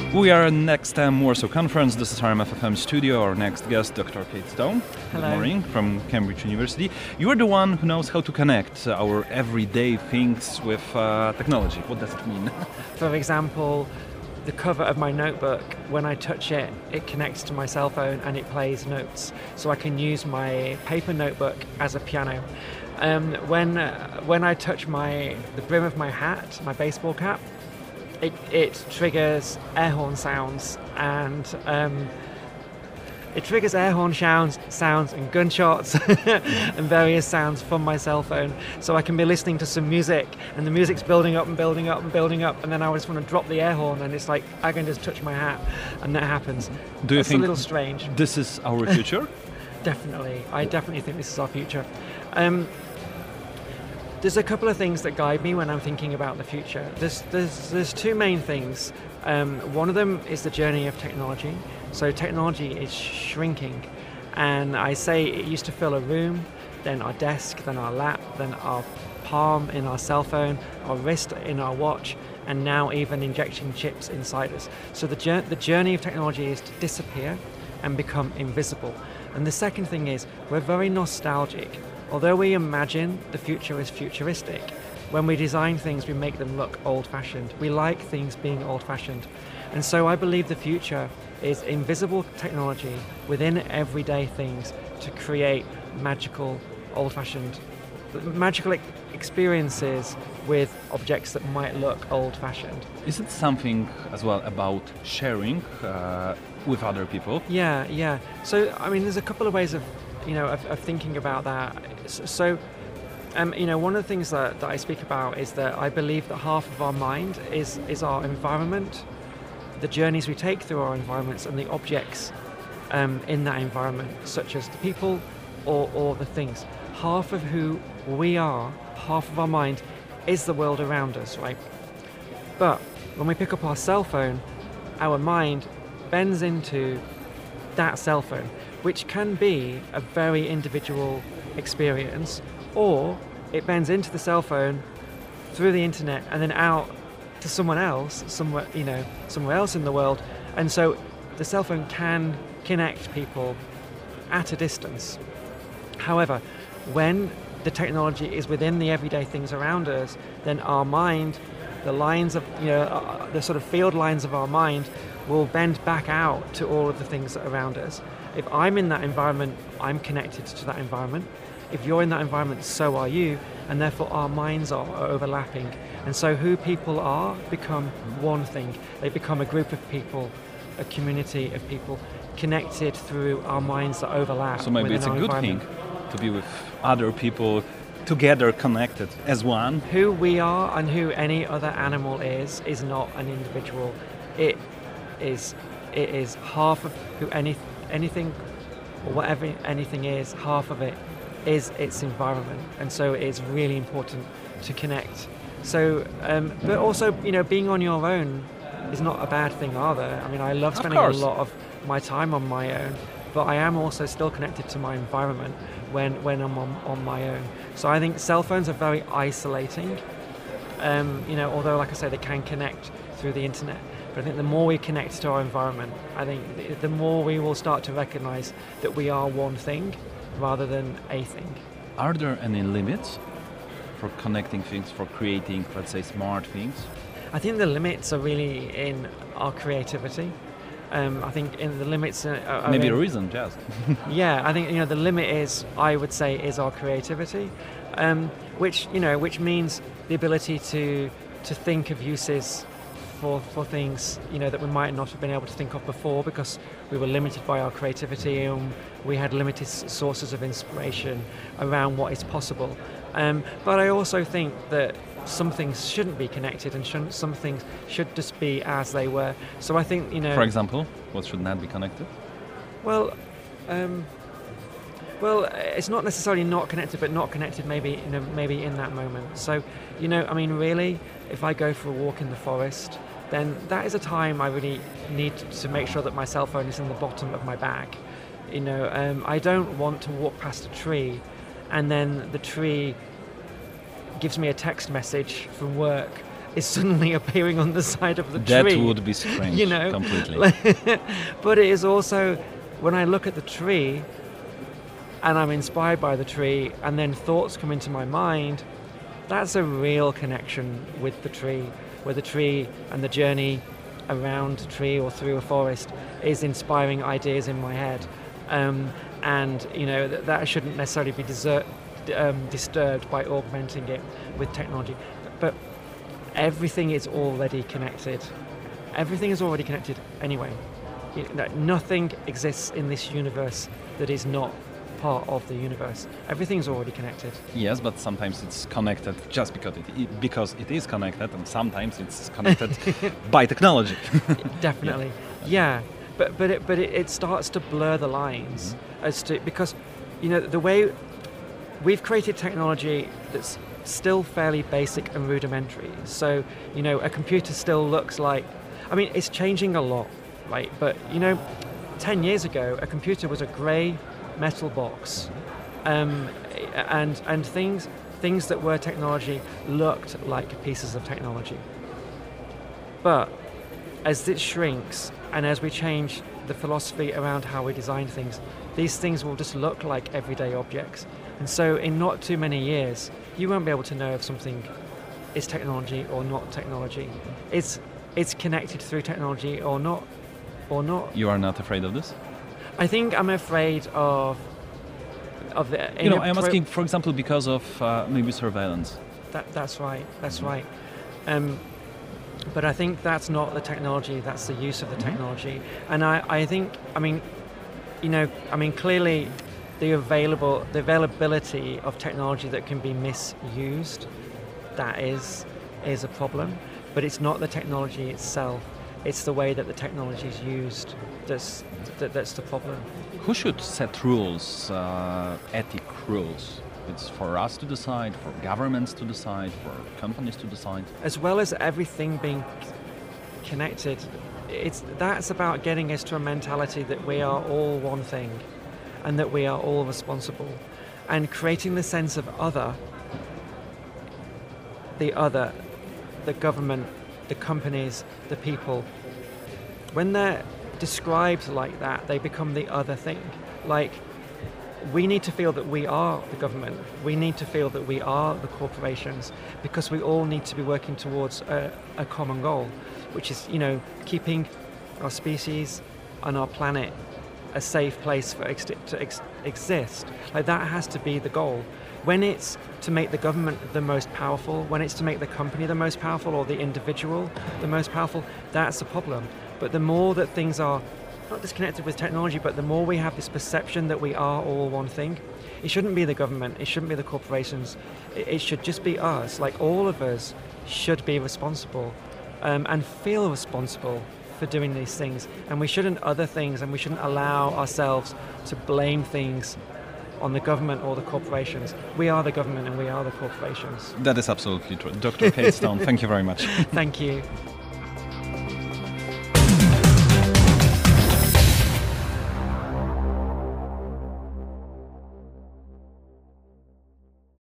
We are at Next Warsaw Conference. This is RMFFM studio. Our next guest, Dr. Kate Stone. Hello. Good morning, from Cambridge University. You are the one who knows how to connect our everyday things with technology. What does it mean? For example, the cover of my notebook, when I touch it, it connects to my cell phone and it plays notes. So I can use my paper notebook as a piano. When I touch the brim of my hat, my baseball cap, it triggers air horn sounds and sounds and gunshots and various sounds from my cell phone. So I can be listening to some music and the music's building up and building up and building up, and then I just want to drop the air horn and it's like I can just touch my hat and that happens. Do you think a little strange? This is our future? Definitely. I definitely think this is our future. There's a couple of things that guide me when I'm thinking about the future. There's two main things. One of them is the journey of technology. So technology is shrinking, and I say it used to fill a room, then our desk, then our lap, then our palm in our cell phone, our wrist in our watch, and now even injecting chips inside us. So the journey of technology is to disappear and become invisible. And the second thing is we're very nostalgic. Although we imagine the future is futuristic, when we design things, we make them look old-fashioned. We like things being old-fashioned. And so I believe the future is invisible technology within everyday things to create magical, old-fashioned, magical experiences with objects that might look old-fashioned. Is it something as well about sharing with other people? Yeah. So, I mean, there's a couple of ways of thinking about that. So, one of the things that I speak about is that I believe that half of our mind is our environment, the journeys we take through our environments and the objects in that environment, such as the people or the things. Half of who we are, half of our mind, is the world around us, right? But when we pick up our cell phone, our mind bends into that cell phone, which can be a very individual experience, or it bends into the cell phone through the internet and then out to someone else, somewhere else in the world. And so the cell phone can connect people at a distance. However, when the technology is within the everyday things around us, then our mind, the lines of, the sort of field lines of our mind will bend back out to all of the things that are around us. If I'm in that environment, I'm connected to that environment. If you're in that environment, so are you, and therefore our minds are overlapping. And so who people are become one thing. They become a group of people, a community of people connected through our minds that overlap. So maybe it's a good thing to be with other people together, connected as one. Who we are and who any other animal is not an individual. It is half of who anything or whatever anything is, half of it is its environment, and so it's really important to connect. So, but also, being on your own is not a bad thing either. I mean, I love spending a lot of my time on my own, but I am also still connected to my environment when I'm on my own. So I think cell phones are very isolating. Although, like I say, they can connect through the internet. But I think the more we connect to our environment, I think the more we will start to recognize that we are one thing rather than a thing. Are there any limits for connecting things, for creating, let's say, smart things? I think the limits are really in our creativity. I think in the limits are maybe a reason, just. Yeah, I think the limit is, I would say, is our creativity, which means the ability to think of uses for things that we might not have been able to think of before because we were limited by our creativity and we had limited sources of inspiration around what is possible. But I also think that some things shouldn't be connected and some things should just be as they were. So I think For example, what should not be connected? Well, it's not necessarily not connected, but not connected maybe in that moment. So, really, if I go for a walk in the forest, then that is a time I really need to make sure that my cell phone is in the bottom of my bag. I don't want to walk past a tree and then the tree gives me a text message from work is suddenly appearing on the side of the That tree. would be strange, You know, completely. But it is also, when I look at the tree and I'm inspired by the tree and then thoughts come into my mind, that's a real connection with the tree, where the tree and the journey around a tree or through a forest is inspiring ideas in my head. And you know, that shouldn't necessarily be disturbed by augmenting it with technology. But everything is already connected. Everything is already connected anyway. Nothing exists in this universe that is not part of the universe. Everything's already connected. Yes, but sometimes it's connected just because it is connected, and sometimes it's connected by technology. Definitely, yeah. But it starts to blur the lines as to, because you know, the way we've created technology that's still fairly basic and rudimentary. So you know, a computer still looks like, I mean, it's changing a lot, right? But you know, 10 years ago, a computer was a grey metal box, and things that were technology looked like pieces of technology. But as it shrinks and as we change the philosophy around how we design things, these things will just look like everyday objects. And so in not too many years, you won't be able to know if something is technology or not technology. It's connected through technology or not. You are not afraid of this? I think I'm afraid of the. You know, I'm asking, for example, because of maybe surveillance. That's right. That's right. But I think that's not the technology. That's the use of the technology. And I think, I mean, you know, clearly, the availability of technology that can be misused, that is a problem. But it's not the technology itself. It's the way that the technology is used that's the problem. Who should set rules, ethic rules? It's for us to decide, for governments to decide, for companies to decide. As well as everything being connected, that's about getting us to a mentality that we are all one thing and that we are all responsible, and creating the sense of the government, the companies, the people. When they're described like that, they become the other thing. Like, we need to feel that we are the government. We need to feel that we are the corporations, because we all need to be working towards a common goal, which is, you know, keeping our species and our planet a safe place for to exist. Like, that has to be the goal. When it's to make the government the most powerful, when it's to make the company the most powerful, or the individual the most powerful, that's a problem. But the more that things are not disconnected with technology, but the more we have this perception that we are all one thing, it shouldn't be the government, it shouldn't be the corporations, it should just be us. Like, all of us should be responsible and feel responsible for doing these things. And we shouldn't other things, and we shouldn't allow ourselves to blame things on the government or the corporations. We are the government and we are the corporations. That is absolutely true. Dr. Kate Stone, thank you very much. Thank you.